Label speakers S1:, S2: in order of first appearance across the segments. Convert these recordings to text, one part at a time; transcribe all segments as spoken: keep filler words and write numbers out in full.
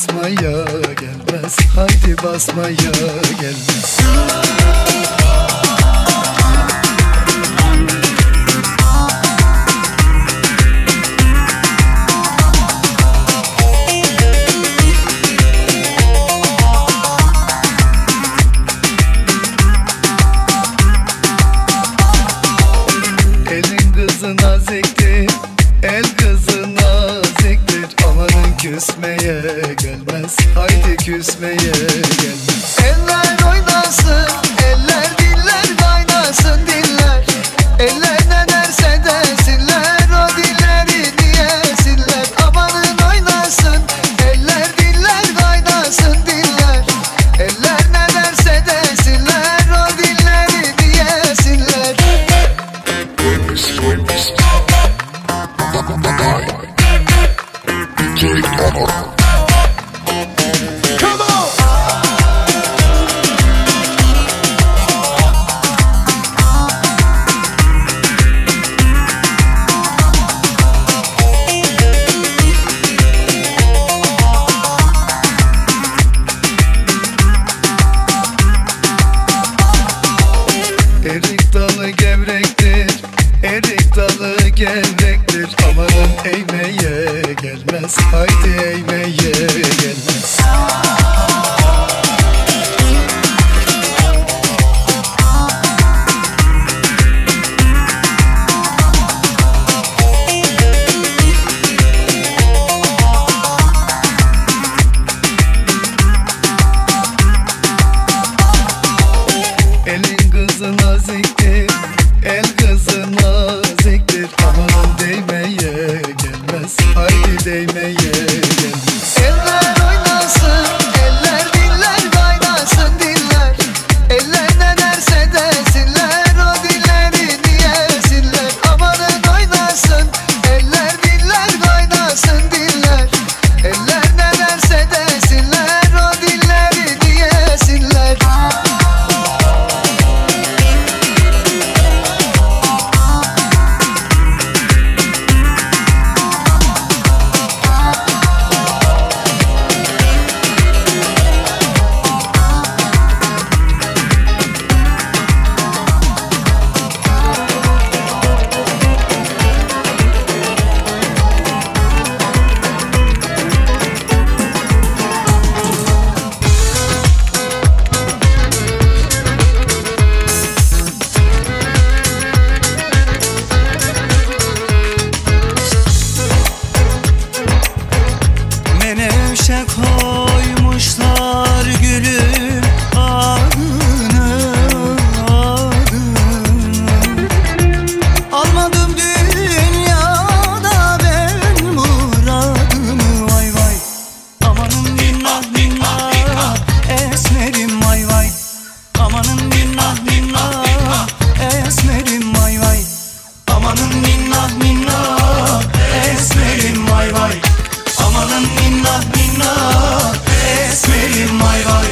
S1: basmaya gelmez, haydi basmaya gelmez. Elin kızı naziktir, el kızı naziktir. Amanın küsmeye gelmez, haydi küsmeye gelmez. Eller oynasın, eller diller kaynasın diller. Eller ne derse desinler, o dilleri diyesinler. Amanın oynasın, eller diller kaynasın diller. Eller ne derse desinler, o dilleri diyesinler. Come on! Erik dalı gevrektir, erik dalı gevrektir. Amanın eğmeye gelmez, haydi eğmeye gelmez. Elin kızı naziktir, el kızı naziktir. Amanın değmeye gelmez, haydi değmeye gelmez. Eller oynasın, eller diller kaynasın diller. Eller ne derse desinler, o dilleri diyesinler. Amanın oynasın, eller diller kaynasın diller. Eller ne derse desinler, o dilleri diyesinler.
S2: Menevşe koymuşlar gülüm adını, adını. Almadım dünyada ben muradımı, vay vay. Amanın minnah minnah esmerim, vay vay. Amanın minnah minnah esmerim, vay vay. Amanın minnah minnah esmerim, vay vay. Amanın minnah minnah esmerim, vay vay.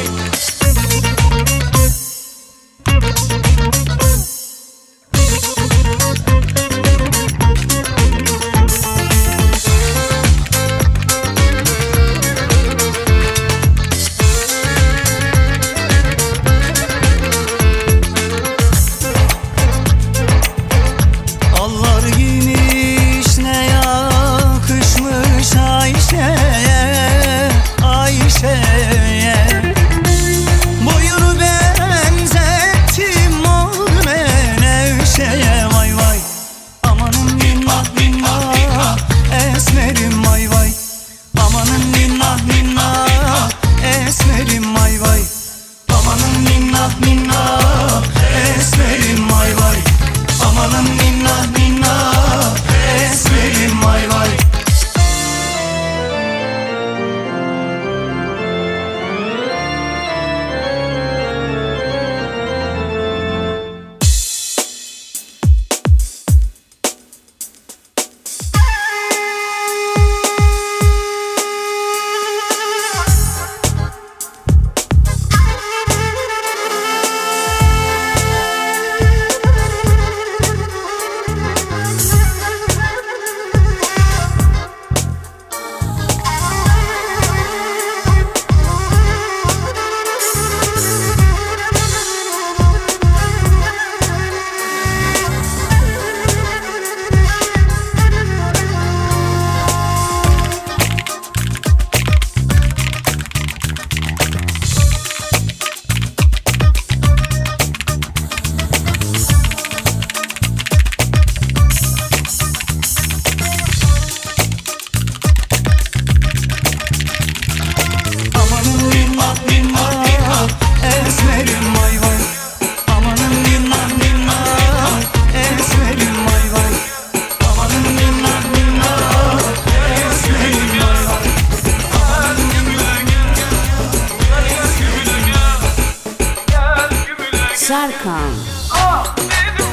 S3: Serkan.
S4: Ah dedim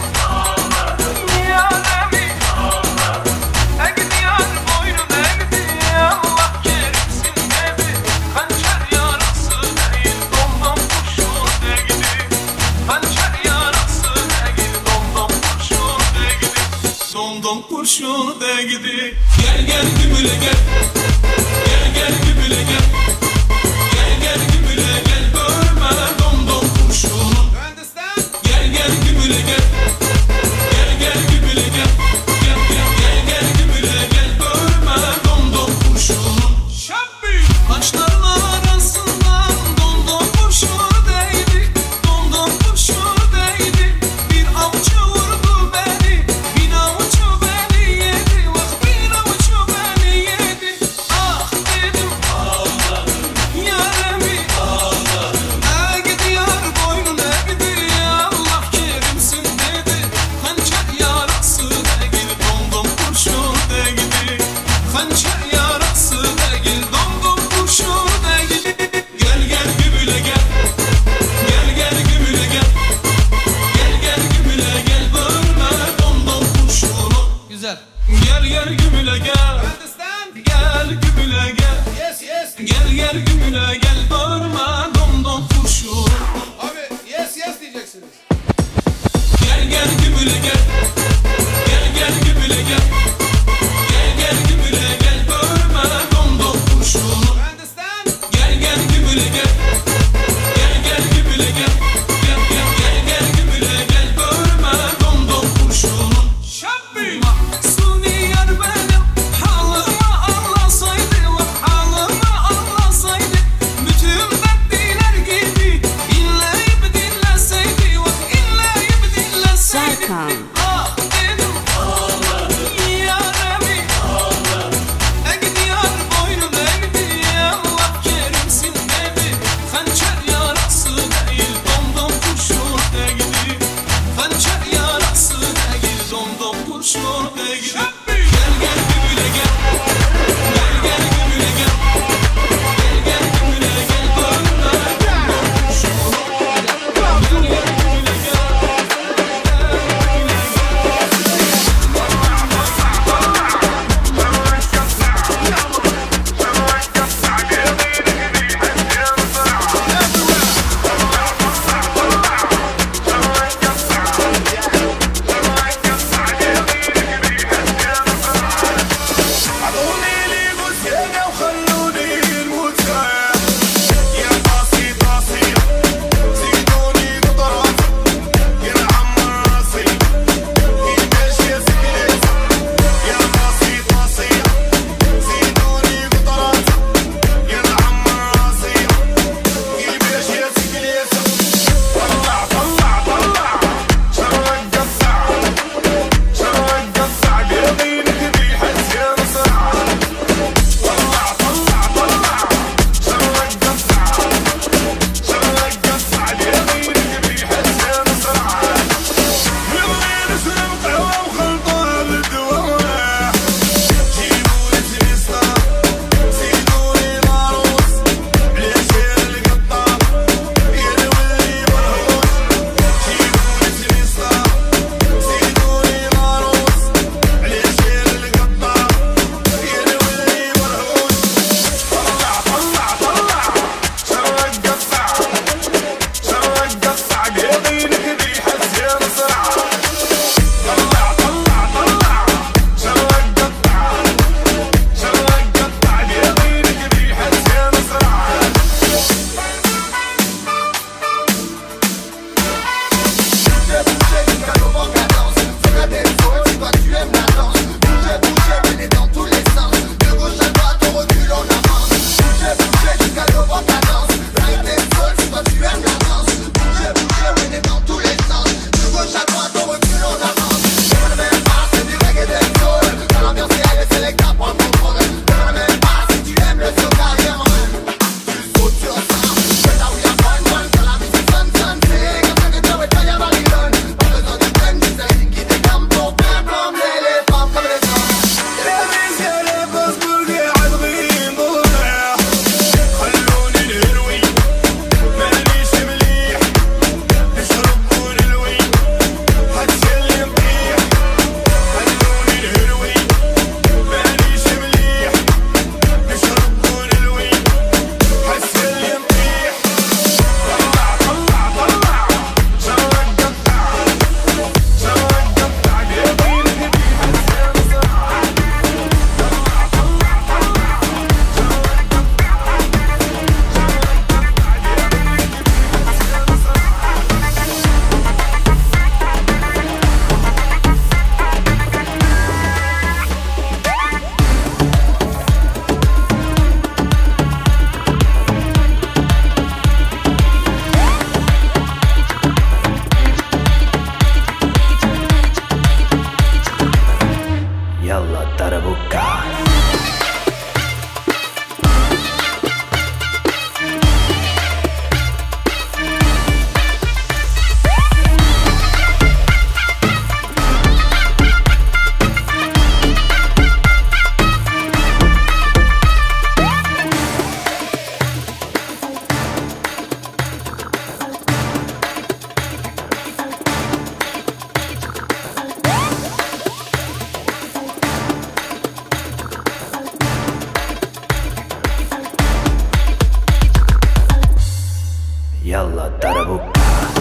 S4: yaremi Egdi yar boynum egdi Allah kerimsin dedi Hançer yarası değil domdom kurşun egdi Hançer yarası değil domdom kurşun egdi Domdom kurşun egdi Gel gel gümüle gel Gel gel gümüle gel Gel gel gümüle gel görme domdom kurşunu Gel gel gümüle gel Gel gel gümüle gel Gel gel gel gel gümüle gel görme domdom kurşunu Şabbi Kaşların arasından domdom kurşunu değdi Domdom kurşunu değdi Bir avcı vurdu beni Bir avcı beni yedi Bak bir avcı beni yedi Ah dedim ağladım Yaremi ağladım Egdi yar boynun egdi Allah kerimsin dedi Hançer yarası değil domdom kurşun değdi Hançer yarası değil domdom kurşun değdi Gel gel gümüle gel Gel gel gümüle gel Gel gel gümüle gel bölme domdom kurşunu
S5: Güzel.
S4: Gel gel gümüle gel Gel gümüle gel
S5: Yes yes.
S4: Gel gel gümüle gel bölme domdom kurşunu
S5: Abi yes yes diyeceksiniz.
S4: Gel gel gümüle gel Gel gel gümüle gel Gel gel gümüle gel bölme domdom kurşunu
S5: Understand?
S4: Gel gel gümüle gel Gel gel gümüle gel Gel gel gel gel gümüle gel bölme domdom kurşunu Şabbi Mahsuni yar benim halıma anlasaydı Halıma anlasaydı Bütün dertliler gibi inleyip dinleseydi Bak inleyip dinleseydi
S3: Serkan.
S4: Ah
S2: يلا تربوكا.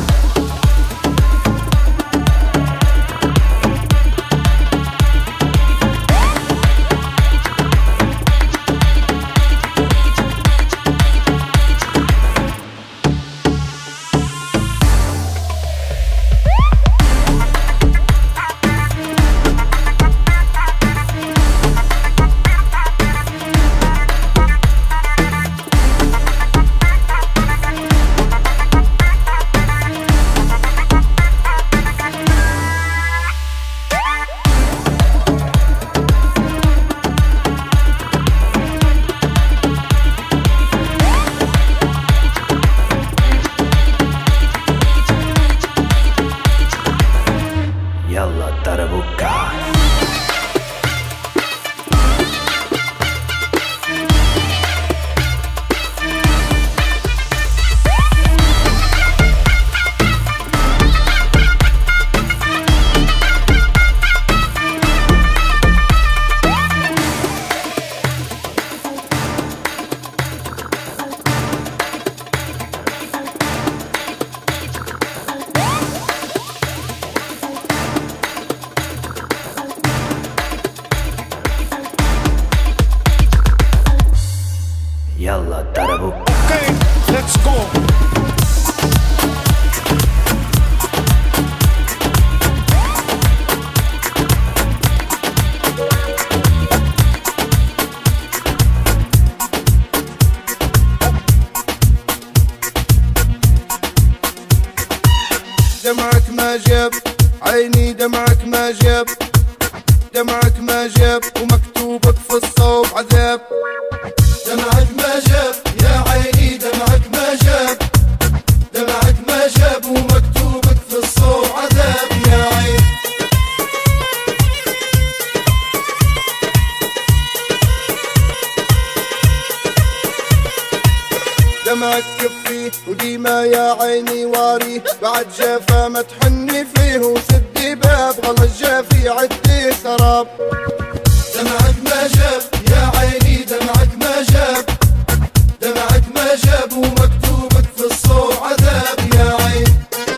S2: يلا تربوكا. يلا تربوكا.
S4: Okay, let's go.
S1: دمعك ما جاب عيني، دمعك ما جاب، دمعك ما جاب ومكتوبك في الصوب عذاب. دمعك ما جاب يا عيني، دمعك ما جاب، دمعك ما جاب ومكتوبك في الصوب عذاب يا عين. دمعك كفي وديما يا عيني واري، بعد جافا ما تحني فيه وسدي باب غلط جافي عدي سراب. دمعك ما جاب يا عيني، دمعك ما جاب، دمعك ما جاب ومكتوبك في الصوب عذاب يا عين.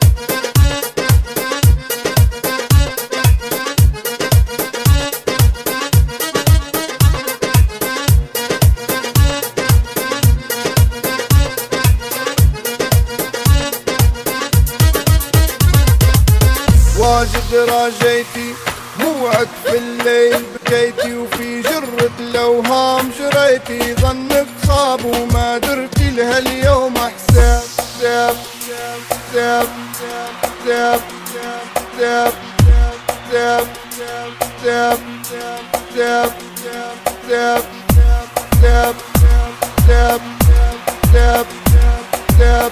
S1: واجد راجيتي موعك في الليل بكيتي، وفي جرة الأوهام جريتي، ظنك صاب وما درتي لها اليوم حساب. حساب حساب حساب حساب حساب حساب حساب حساب حساب حساب حساب حساب.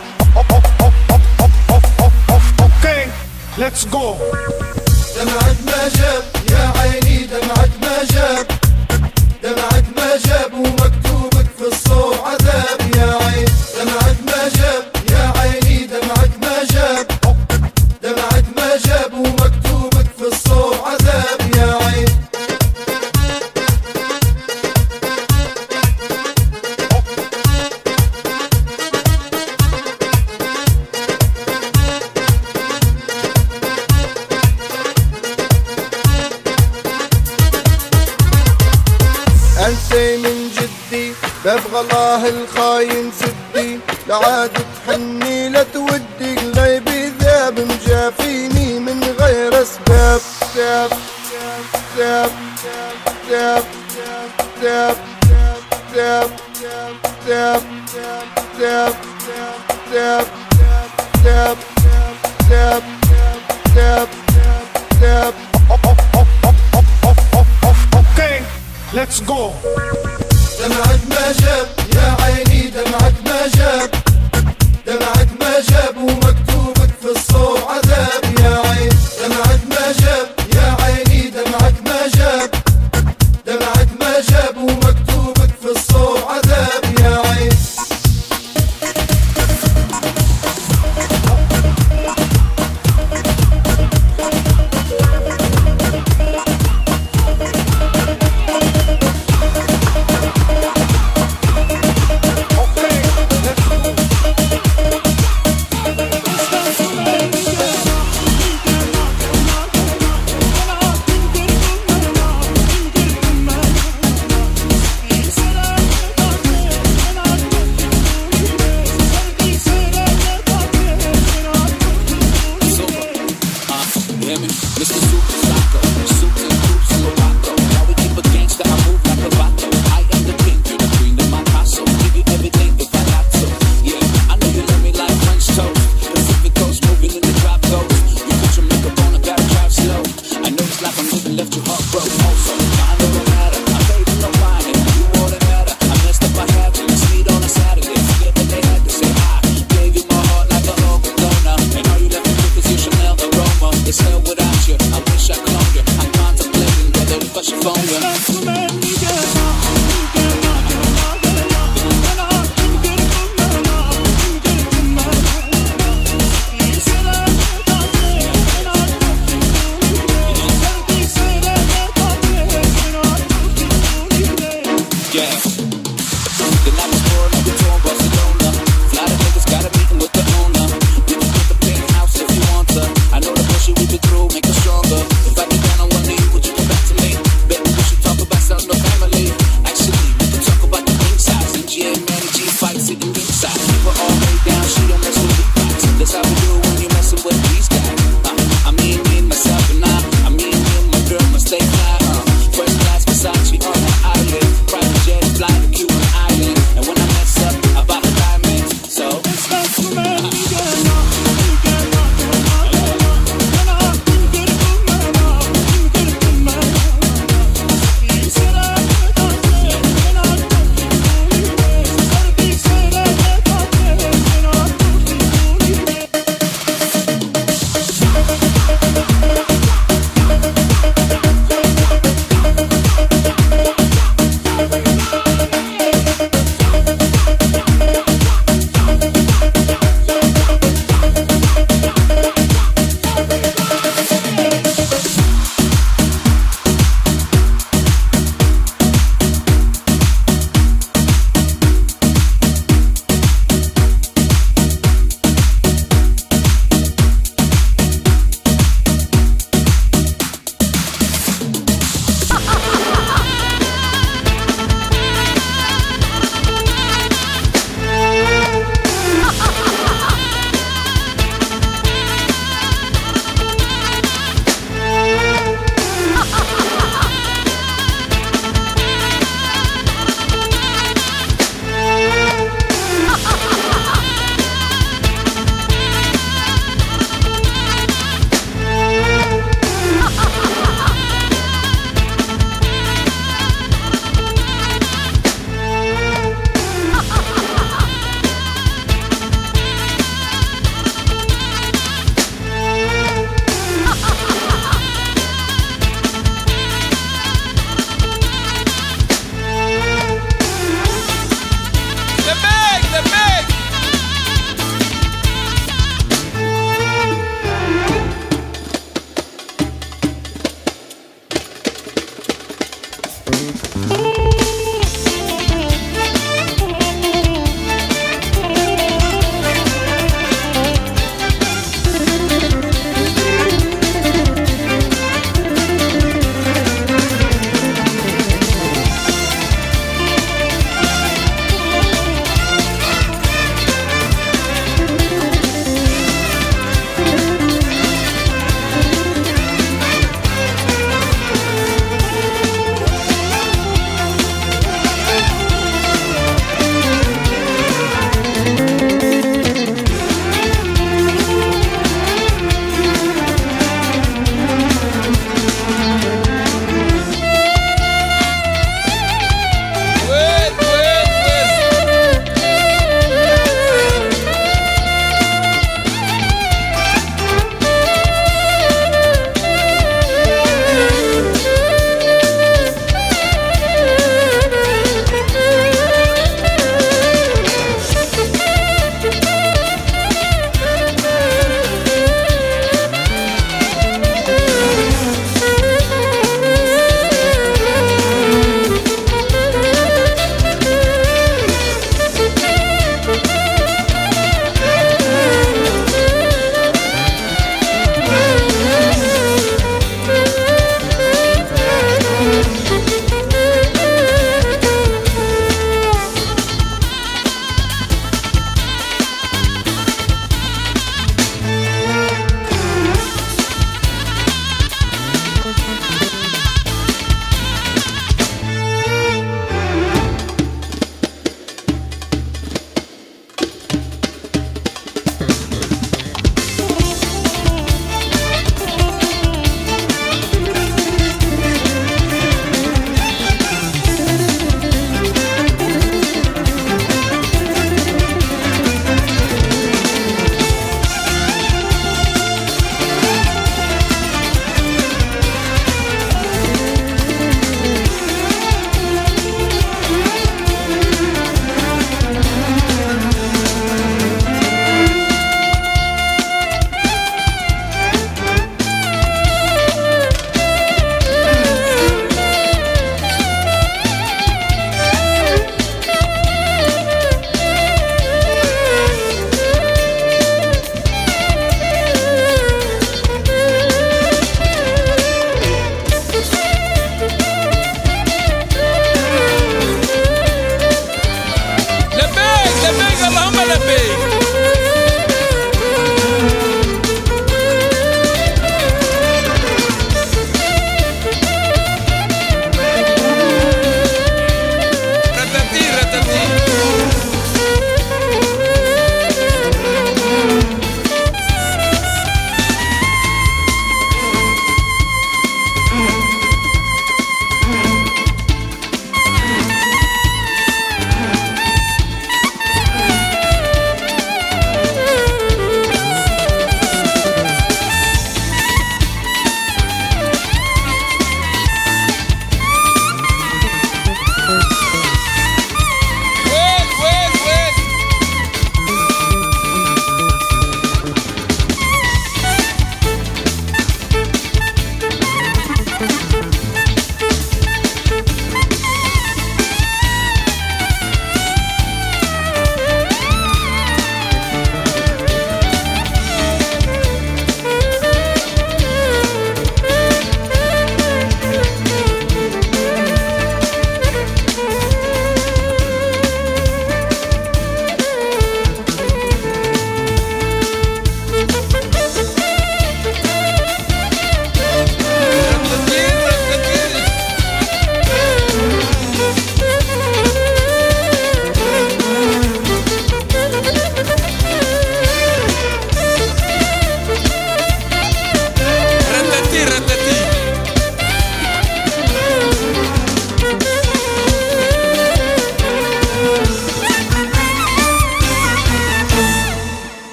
S4: Okay, let's go.
S1: دمعك ما جاب يا عيني، دمعك ما جاب، دمعك ما جاب ومكتوبك في الصوب عذاب يا عين. دمعك ما جاب يا عيني، دمعك ما جاب، دمعك ما جاب ومكتوبك في الصوب عذاب يا عين. انسي من جدي باب غلاه الخاين سدي، لعاد تحني لا تودي قلبي ذاب مجافيني من غير اسباب. ساب ساب ساب ساب ساب ساب ساب ساب ساب ساب ساب ساب.
S4: Okay, let's go.
S1: دمعك ما جاب يا عيني، دمعك